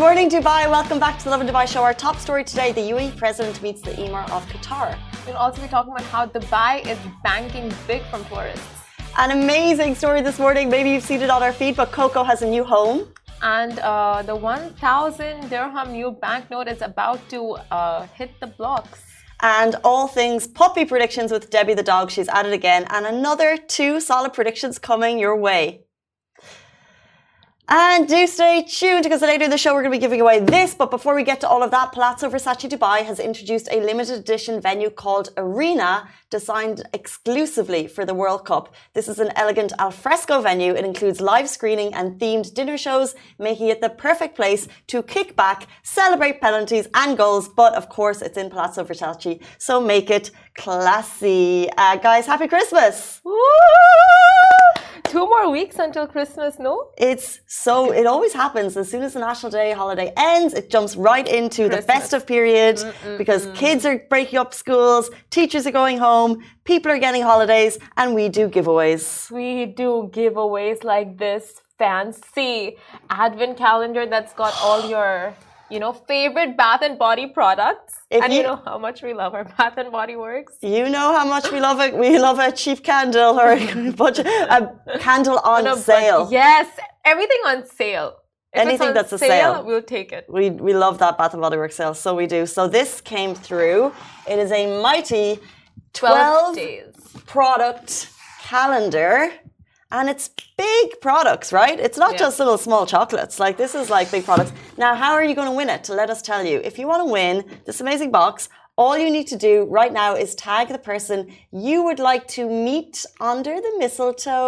morning, Dubai. Welcome back to the Lovin Dubai show. Our top story today, the UAE president meets the Emir of Qatar. We'll also be talking about how Dubai is banking big from tourists. An amazing story this morning. Maybe you've seen it on our feed, but Coco has a new home. And the 1,000 dirham new banknote is about to hit the blocks. And all things puppy predictions with Debbie the dog. She's at it again. And another 2 solid predictions coming your way. And do stay tuned because later in the show we're going to be giving away this. But before we get to all of that, Palazzo Versace Dubai has introduced a limited edition venue called Arena, designed exclusively for the World Cup. This is an elegant alfresco venue. It includes live screening and themed dinner shows, making it the perfect place to kick back, celebrate penalties and goals. But of course, it's in Palazzo Versace, so make it classy. Guys, happy Christmas! Woo! 2 more weeks until Christmas, no? It always happens. As soon as the National Day holiday ends, it jumps right into the festive period because kids are breaking up schools, teachers are going home, people are getting holidays, and we do giveaways. We do giveaways like this fancy advent calendar that's got all your, favorite Bath and Body products. You know how much we love our Bath and Body Works. You know how much we love it. We love a cheap candle or a candle on sale. Yes, everything on sale. If anything that's a sale, we'll take it. We love that Bath and Body Works sale, so we do. So this came through. It is a mighty 12 days product calendar. And it's big products, right? It's not just little small chocolates. Like, this is like big products. Now, how are you going to win it? Let us tell you. If you want to win this amazing box, all you need to do right now is tag the person you would like to meet under the mistletoe.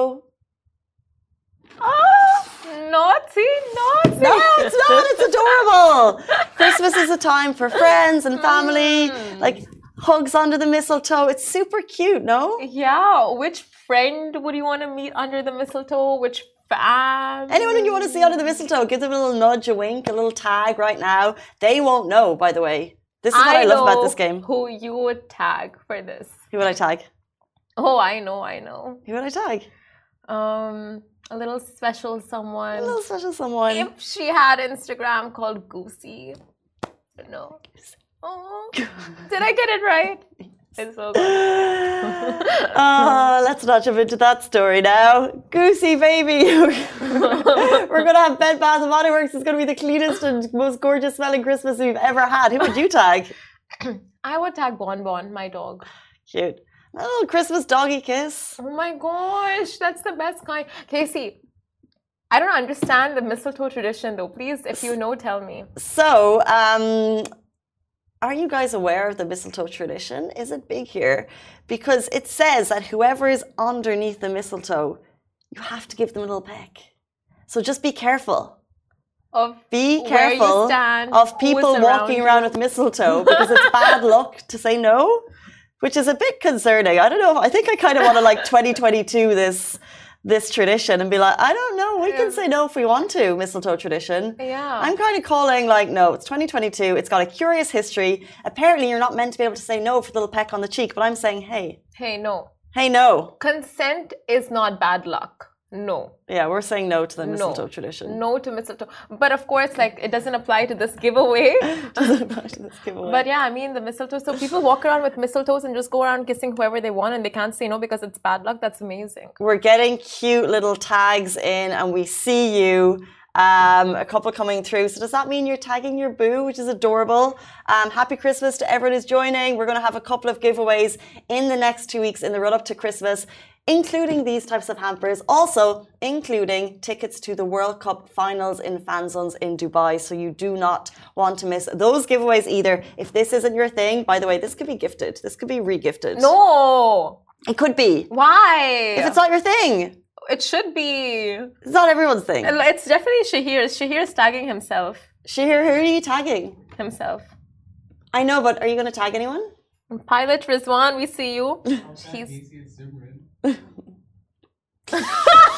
Oh, naughty. No, it's not. It's adorable. Christmas is a time for friends and family. Like, hugs under the mistletoe. It's super cute, no? Yeah. Which friend would you want to meet under the mistletoe? Which fan? Anyone you want to see under the mistletoe, give them a little nudge, a wink, a little tag right now. They won't know, by the way. This is what I love about this game. Who you would tag for this? Who would I tag? Oh, I know. Who would I tag? A little special someone. If she had Instagram called Goosey. No. Oh, did I get it right? It's so good. Let's not jump into that story now. Goosey baby. We're going to have Bed Bath & Body Works. It's going to be the cleanest and most gorgeous smelling Christmas we've ever had. Who would you tag? I would tag Bon Bon, my dog. Cute. A little Christmas doggy kiss. Oh my gosh, that's the best kind. Casey, I don't understand the mistletoe tradition though. Please, if you know, tell me. So, are you guys aware of the mistletoe tradition? Is it big here? Because it says that whoever is underneath the mistletoe, you have to give them a little peck. So just be careful. Be careful of people walking around with mistletoe because it's bad luck to say no, which is a bit concerning. I don't know. I think I kind of want to 2022 this tradition and be like, I don't know, we can say no if we want to, mistletoe tradition. Yeah. I'm kind of calling no, it's 2022, it's got a curious history. Apparently you're not meant to be able to say no for the little peck on the cheek, but I'm saying, hey, no. Hey, no. Consent is not bad luck. No. Yeah, we're saying no to the mistletoe tradition. No to mistletoe. But of course, it doesn't apply to this giveaway. But yeah, I mean, the mistletoe. So people walk around with mistletoes and just go around kissing whoever they want and they can't say no because it's bad luck. That's amazing. We're getting cute little tags in and we see you. A couple coming through. So does that mean you're tagging your boo, which is adorable? Happy Christmas to everyone who's joining. We're going to have a couple of giveaways in the next 2 weeks in the run up to Christmas, including these types of hampers, also including tickets to the World Cup finals in fan zones in Dubai. So you do not want to miss those giveaways either. If this isn't your thing, by the way, this could be gifted. This could be re-gifted. No! It could be. Why? If it's not your thing. It should be. It's not everyone's thing. It's definitely Shahir. Shahir is tagging himself. Shahir, who are you tagging? Himself. I know, but are you going to tag anyone? Pilot Rizwan, we see you. He's...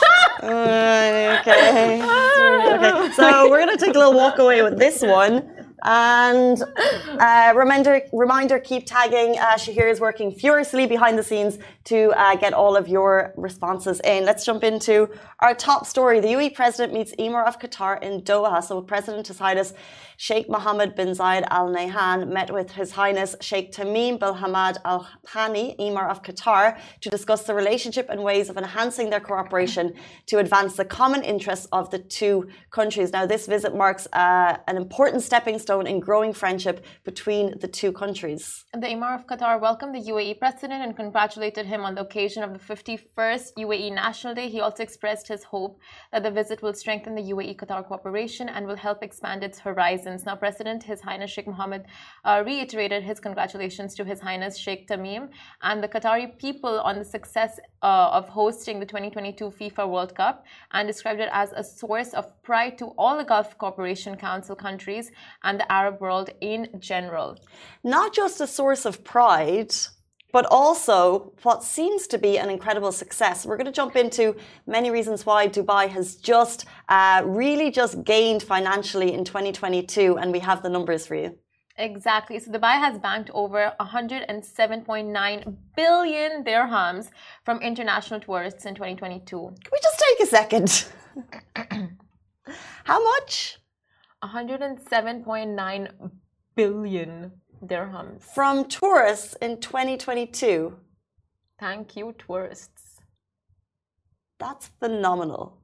okay. So we're going to take a little walk away with this one. And reminder, keep tagging. Shahir is working furiously behind the scenes to get all of your responses in. Let's jump into our top story. The UAE president meets Emir of Qatar in Doha. So President His Highness Sheikh Mohammed bin Zayed Al Nahyan met with His Highness Sheikh Tamim bin Hamad Al Thani, Emir of Qatar, to discuss the relationship and ways of enhancing their cooperation to advance the common interests of the two countries. Now, this visit marks an important stepping stone in growing friendship between the two countries. The Emir of Qatar welcomed the UAE president and congratulated him on the occasion of the 51st UAE National Day. He also expressed his hope that the visit will strengthen the UAE-Qatar cooperation and will help expand its horizons. Now, President His Highness Sheikh Mohammed reiterated his congratulations to His Highness Sheikh Tamim and the Qatari people on the success of hosting the 2022 FIFA World Cup, and described it as a source of pride to all the Gulf Cooperation Council countries and the Arab world in general. Not just a source of pride, but also what seems to be an incredible success. We're going to jump into many reasons why Dubai has just really just gained financially in 2022, and we have the numbers for you. Exactly. So Dubai has banked over 107.9 billion dirhams from international tourists in 2022. Can we just take a second? How much? 107.9 billion dirhams. From tourists in 2022. Thank you, tourists. That's phenomenal.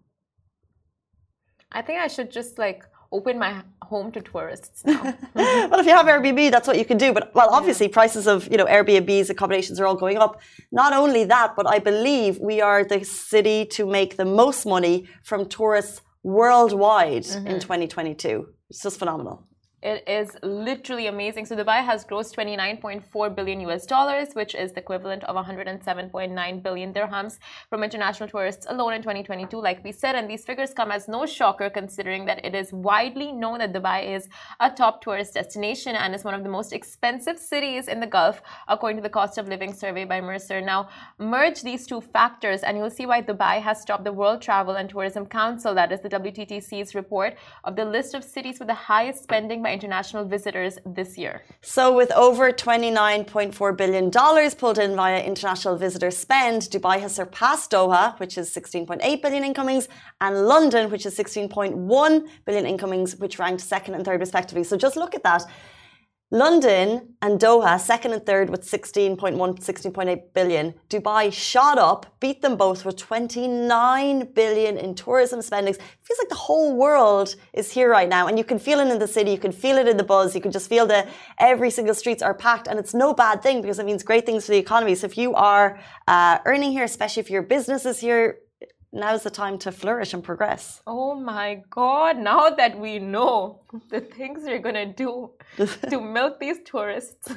I think I should just open my home to tourists now. Well, if you have Airbnb, that's what you can do. But, well, obviously prices of, Airbnbs, accommodations are all going up. Not only that, but I believe we are the city to make the most money from tourists worldwide in 2022. It's just phenomenal. It is literally amazing. So Dubai has grossed $29.4 billion, which is the equivalent of 107.9 billion dirhams from international tourists alone in 2022, like we said. And these figures come as no shocker, considering that it is widely known that Dubai is a top tourist destination and is one of the most expensive cities in the Gulf, according to the cost of living survey by Mercer. Now, merge these two factors and you'll see why Dubai has topped the World Travel and Tourism Council, that is the WTTC's report of the list of cities with the highest spending by international visitors this year. So with over $29.4 billion pulled in via international visitor spend, Dubai has surpassed Doha, which is 16.8 billion incomings, and London, which is 16.1 billion incomings, which ranked second and third respectively. So just look at that. London and Doha, second and third with 16.1, 16.8 billion. Dubai shot up, beat them both with 29 billion in tourism spendings. It feels like the whole world is here right now. And you can feel it in the city, you can feel it in the buzz, you can just feel that every single streets are packed. And it's no bad thing because it means great things for the economy. So if you are earning here, especially if your business is here, now's the time to flourish and progress. Oh my God, now that we know the things we're going to do to milk these tourists.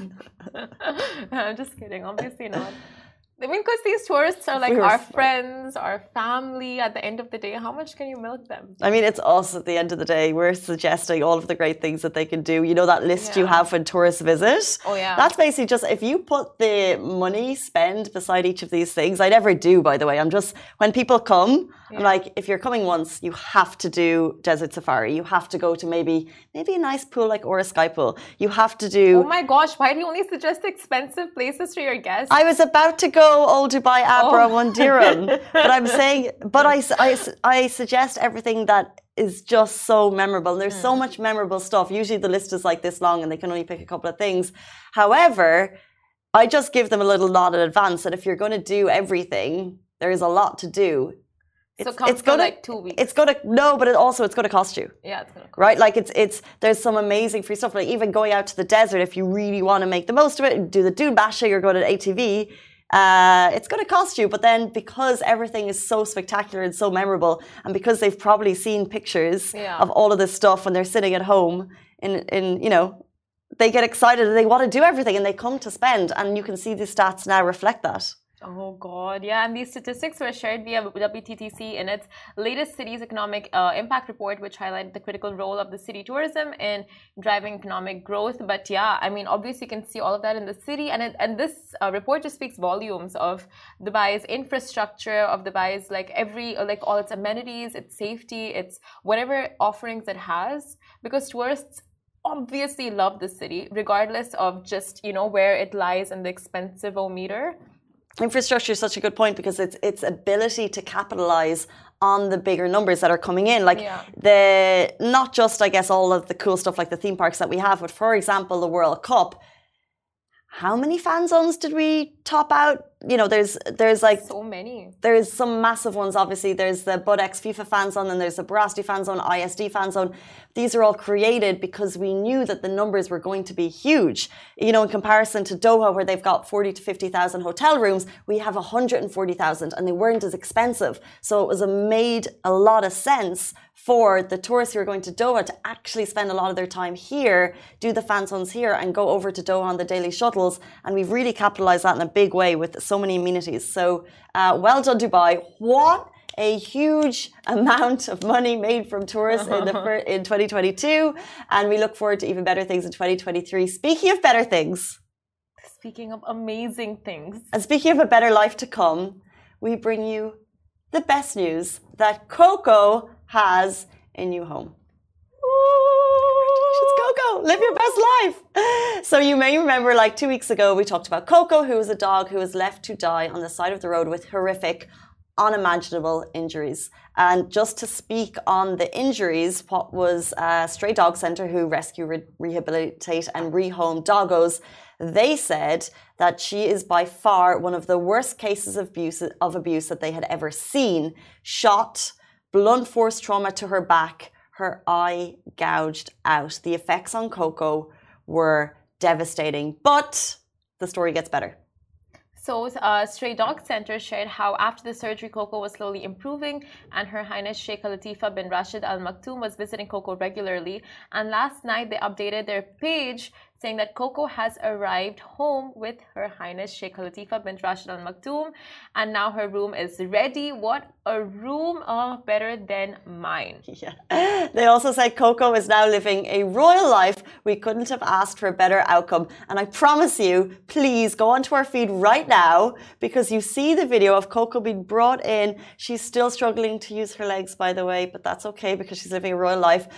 I'm just kidding, obviously not. I mean, because these tourists are like our friends, our family. At the end of the day, how much can you milk them? I mean, it's us at the end of the day. We're suggesting all of the great things that they can do. You know that list you have when tourists visit? Oh, yeah. That's basically just, if you put the money spend beside each of these things, I never do, by the way. I'm just, when people come, I'm like, if you're coming once, you have to do Desert Safari. You have to go to maybe a nice pool like Ora Sky Pool. You have to do... Oh my gosh, why do you only suggest expensive places for your guests? I was about to go Old Dubai Abra 1 dirham. But I'm saying, but I suggest everything that is just so memorable. And there's so much memorable stuff. Usually the list is like this long and they can only pick a couple of things. However, I just give them a little nod in advance that if you're going to do everything, there is a lot to do. It's going to like 2 weeks. It's going to but it's going to cost you. Yeah, it's going to cost. Right, like it's there's some amazing free stuff. Like even going out to the desert, if you really want to make the most of it, do the Dune Basha, you're going to ATV. It's going to cost you, but then because everything is so spectacular and so memorable, and because they've probably seen pictures of all of this stuff when they're sitting at home, they get excited and they want to do everything and they come to spend, and you can see the stats now reflect that. Oh God, yeah, and these statistics were shared via WTTC in its latest city's economic impact report, which highlighted the critical role of the city tourism in driving economic growth. But yeah, I mean, obviously you can see all of that in the city, and this report just speaks volumes of Dubai's infrastructure, of Dubai's all its amenities, its safety, its whatever offerings it has, because tourists obviously love the city, regardless of just, where it lies in the expensive-o-meter. Infrastructure is such a good point because its ability to capitalize on the bigger numbers that are coming in, like not just, I guess, all of the cool stuff like the theme parks that we have, but for example, the World Cup. How many fan zones did we top out? There's like so many. There's some massive ones. Obviously, there's the Budex FIFA fan zone, and there's the Barasti fan zone, ISD fan zone. These are all created because we knew that the numbers were going to be huge. In comparison to Doha, where they've got 40 to 50,000 hotel rooms, we have 140,000, and they weren't as expensive. So it made a lot of sense for the tourists who are going to Doha to actually spend a lot of their time here, do the fan zones here, and go over to Doha on the daily shuttles. And we've really capitalized that in a big way with so many amenities. So well done, Dubai. What a huge amount of money made from tourists in 2022. And we look forward to even better things in 2023. Speaking of better things. Speaking of amazing things. And speaking of a better life to come, we bring you the best news that Coco has a new home. Congratulations, Coco. Live your best life. So you may remember, like 2 weeks ago, we talked about Coco, who was a dog who was left to die on the side of the road with horrific, unimaginable injuries. And just to speak on the injuries, what was Stray Dog Centre, who rescue, rehabilitate and rehome doggos, they said that she is by far one of the worst cases of abuse that they had ever seen. Shot, blunt force trauma to her back, her eye gouged out. The effects on Coco were devastating, but the story gets better. So, Stray Dog Centre shared how after the surgery, Coco was slowly improving, and Her Highness Sheikh Latifah bin Rashid Al Maktoum was visiting Coco regularly. And last night, they updated their page saying that Coco has arrived home with Her Highness Sheikh Latifah bin Rashid Al Maktoum, and now her room is ready. What a room! Better than mine. Yeah. They also said Coco is now living a royal life. We couldn't have asked for a better outcome. And I promise you, please go onto our feed right now, because you see the video of Coco being brought in. She's still struggling to use her legs, by the way, but that's okay because she's living a royal life.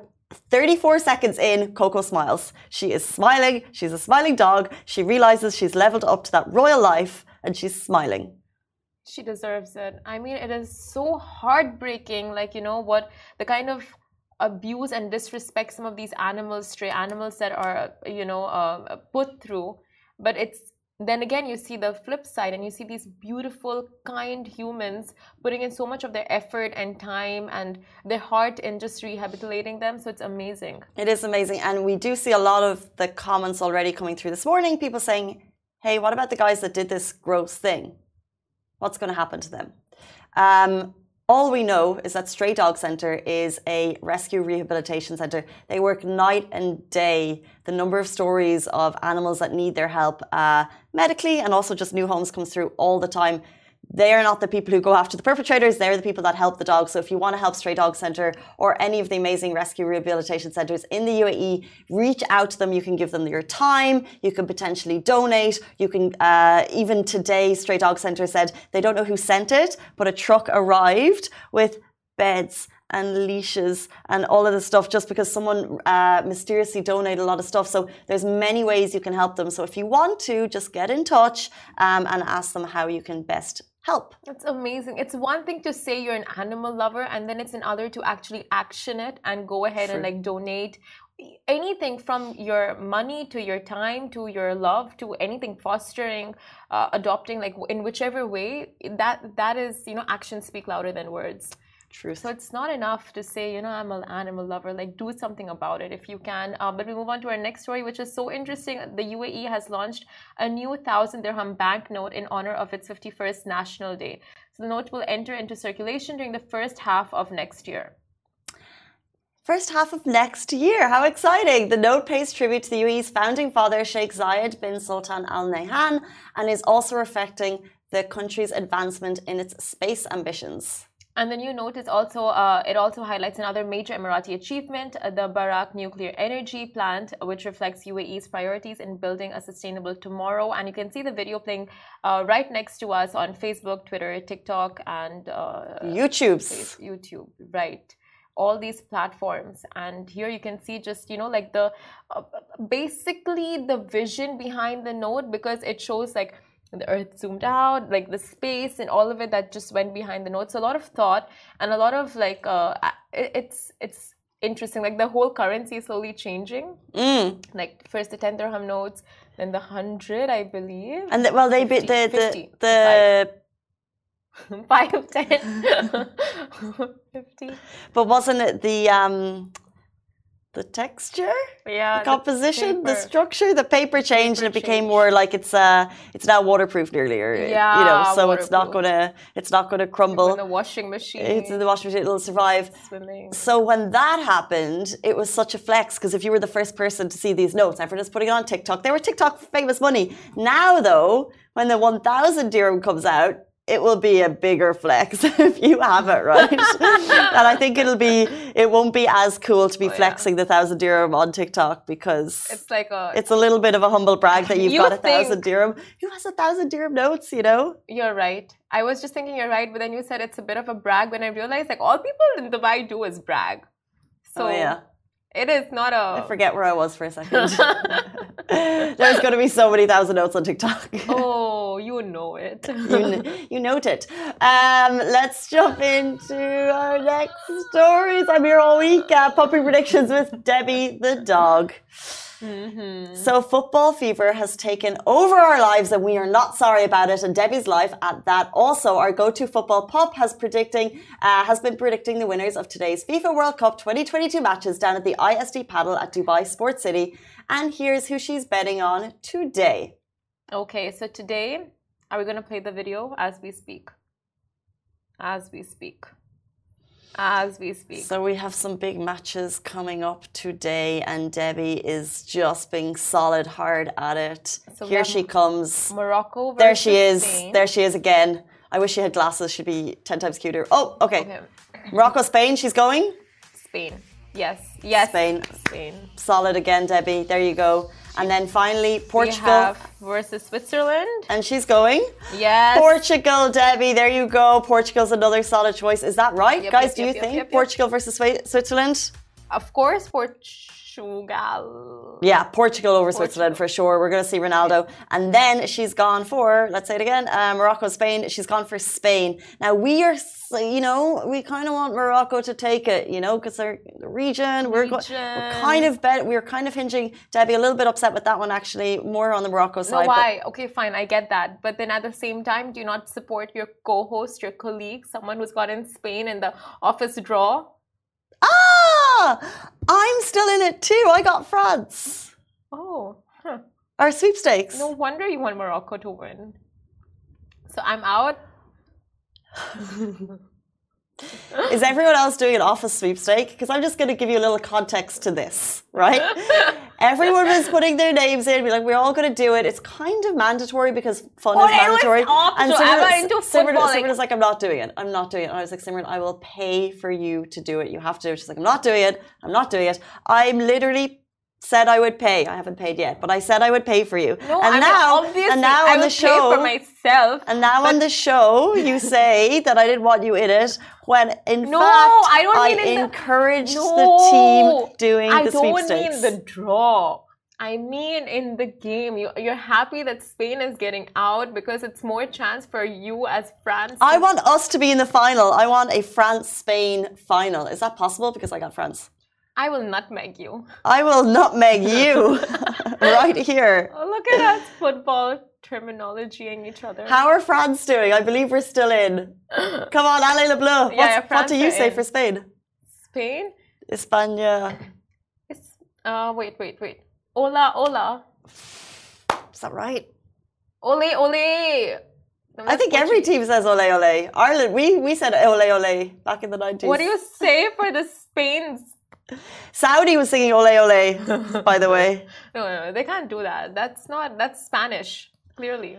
34 seconds in, Coco smiles. She is smiling. She's a smiling dog. She realizes she's leveled up to that royal life and she's smiling. She deserves it. I mean, it is so heartbreaking. Like, what the kind of abuse and disrespect some of these animals, stray animals that are, put through. But then again, you see the flip side and you see these beautiful, kind humans putting in so much of their effort and time and their heart in just rehabilitating them. So it's amazing. It is amazing. And we do see a lot of the comments already coming through this morning. People saying, hey, what about the guys that did this gross thing? What's going to happen to them? All we know is that Stray Dog Centre is a rescue rehabilitation centre. They work night and day. The number of stories of animals that need their help medically and also just new homes comes through all the time. They are not the people who go after the perpetrators. They're the people that help the dogs. So if you want to help Stray Dog Centre or any of the amazing rescue rehabilitation centres in the UAE, reach out to them. You can give them your time. You can potentially donate. You can, even today, Stray Dog Centre said they don't know who sent it, but a truck arrived with beds and leashes and all of this stuff just because someone mysteriously donated a lot of stuff. So there's many ways you can help them. So if you want to, just get in touch and ask them how you can best help. That's amazing. It's one thing to say you're an animal lover, and then it's another to actually action it and go ahead and donate anything from your money to your time to your love to anything, fostering, adopting, in whichever way. That is, actions speak louder than words. True. So it's not enough to say, I'm an animal lover. Do something about it if you can. But we move on to our next story, which is so interesting. The UAE has launched a new 1,000 dirham banknote in honor of its 51st National Day. So the note will enter into circulation during the first half of next year. First half of next year. How exciting. The note pays tribute to the UAE's founding father, Sheikh Zayed bin Sultan Al Nahyan, and is also reflecting the country's advancement in its space ambitions. And the new note is also it also highlights another major Emirati achievement, the Barak nuclear energy plant, which reflects UAE's priorities in building a sustainable tomorrow. And you can see the video playing right next to us on Facebook, Twitter, TikTok, and YouTube. Right. all these platforms. And here you can see just, you know, like the basically the vision behind the note, because it shows like the earth zoomed out, like the space and all of it that just went behind the note. So a lot of thought and a lot of like it's interesting. Like the whole currency is slowly changing. Like first the 10 dirham notes, then the 100, I believe. And well, they 50, the 5, 10, 50. But wasn't it the texture, the composition, the structure, the paper changed and it became more like it's now waterproof nearly, you know, so waterproof. it's not gonna crumble. Like in the washing machine. It's in the washing machine, it'll survive. Swimming. So when that happened, it was such a flex, because if you were the first person to see these notes, everyone is putting it on TikTok. They were TikTok famous money. Now though, when the 1,000 dirham comes out, it will be a bigger flex if you have it, right? And I think it won't be as cool to be flexing the 1,000 dirham on TikTok, because it's a little bit of a humble brag that you've got 1,000 dirham. Who has 1,000 dirham notes, you know? You're right. I was just thinking you're right, but then you said it's a bit of a brag when I realized like all people in Dubai do is brag. So it is not a... I forget where I was for a second. There's going to be so many 1,000 notes on TikTok. Oh, you know it. you note it. Let's jump into our next stories. I'm here all week. Puppy predictions with Debbie the dog. So football fever has taken over our lives and we are not sorry about it, and Debbie's life at that. Also, our go-to football pup has been predicting the winners of today's FIFA World Cup 2022 matches down at the ISD Paddle at Dubai Sports City, and here's who she's betting on today. Okay, so today, are we going to play the video as we speak? As we speak. So we have some big matches coming up today, and Debbie is just being solid hard at it. So here she comes. Morocco versus There she is. Spain. There she is again. I wish she had glasses. She'd be 10 times cuter. Oh, okay. Morocco, Spain. She's going? Spain. Yes. Spain. Solid again, Debbie. There you go. And then finally, Portugal versus Switzerland. And she's going? Yes. Portugal, Debbie. There you go. Portugal's another solid choice. Is that right, guys? Do you think Portugal versus Switzerland? Of course, Portugal. Yeah, Portugal over Switzerland for sure. We're going to see Ronaldo. And then she's gone for, let's say it again, Morocco, Spain. She's gone for Spain. Now, we are, you know, we kind of want Morocco to take it, you know, because they're the region. We're kind of hinging. Debbie, a little bit upset with that one, actually. More on the Morocco side. No, why? Okay, fine. I get that. But then at the same time, do you not support your co-host, your colleague, someone who's got in Spain in the office draw? I'm still in it too. I got France. Oh. Our sweepstakes. No wonder you want Morocco to win. So I'm out. Is everyone else doing an office sweepstake? Because I'm just going to give you a little context to this, right? Everyone was putting their names in, be like, we're all going to do it. It's kind of mandatory because fun is mandatory. And Simran was like, I'm not doing it. And I was like, Simran, I will pay for you to do it. You have to do it. She's like, I'm not doing it. I'm literally said I would pay. I haven't paid yet, but I said I would pay for you. No, and now on the show, pay for myself. And now on the show, you say that I didn't want you in it, when in fact I encouraged the team doing the sweepstakes. I don't mean the draw. I mean in the game. You're happy that Spain is getting out because it's more chance for you as France. I want us to be in the final. I want a France-Spain final. Is that possible? Because I got France. I will nutmeg you. I will nutmeg you right here. Oh, look at us football terminologying each other. How are France doing? I believe we're still in. Come on, Allez le Bleu. What do you say for Spain? Spain? España. Wait. Hola. Is that right? Ole. I think every team says ole ole. Ireland, we said ole ole back in the 90s. What do you say for the Spain's? Saudi was singing ole ole, by the way. No, they can't do that. That's Spanish, clearly.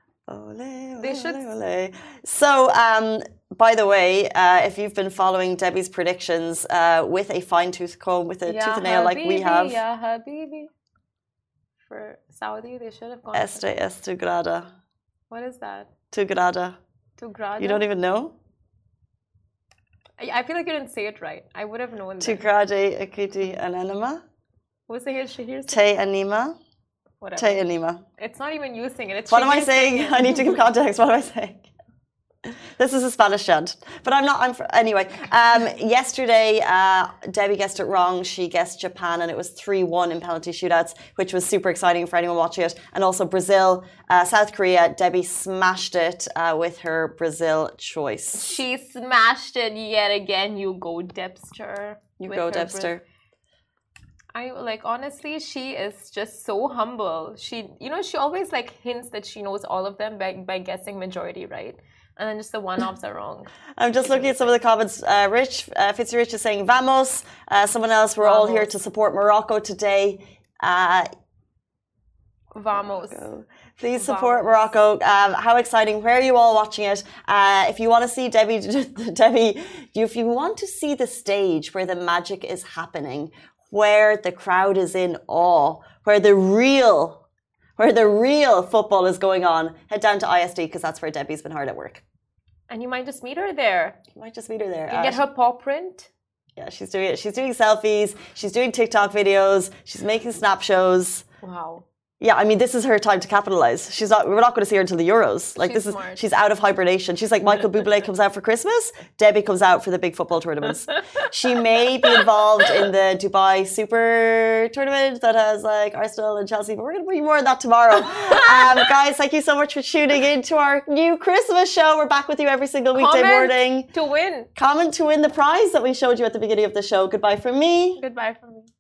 Ole. So, by the way, if you've been following Debbie's predictions with a fine-tooth comb, with a tooth and nail like we have. Ya Habibi. For Saudi, they should have gone. Tu grada. What is that? Tu grada. Tu grada? You don't even know? I feel like you didn't say it right. I would have known. Tukrade akuti ananima. What's the Shahir? Te anima. Whatever. Te anima. It's not even you singing. It's what am I saying? I need to give context. What am I saying? This is a Spanish chant, but I'm not. Anyway. Yesterday, Debbie guessed it wrong. She guessed Japan, and it was 3-1 in penalty shootouts, which was super exciting for anyone watching it. And also Brazil, South Korea. Debbie smashed it with her Brazil choice. She smashed it yet again. You go, Debster. You go, Debster. Honestly, she is just so humble. She always hints that she knows all of them by guessing majority right. And then just the one-offs are wrong. I'm just looking at some of the comments. Fitzrich is saying, Vamos. Someone else, we're all here to support Morocco today. Vamos. Please support Morocco. How exciting. Where are you all watching it? If you want to see Debbie, if you want to see the stage where the magic is happening, where the crowd is in awe, where the real football is going on, head down to ISD because that's where Debbie's been hard at work. And you might just meet her there. You might just meet her there. You get her paw print. Yeah, she's doing it. She's doing selfies. She's doing TikTok videos. She's making snap shows. Wow. Yeah, I mean, this is her time to capitalize. We're not going to see her until the Euros. She's out of hibernation. She's like Michael Bublé comes out for Christmas. Debbie comes out for the big football tournaments. She may be involved in the Dubai Super Tournament that has Arsenal and Chelsea, but we're going to bring more on that tomorrow. Guys, thank you so much for tuning in to our new Christmas show. We're back with you every single weekday morning. To win. Comment to win the prize that we showed you at the beginning of the show. Goodbye from me. Goodbye from me.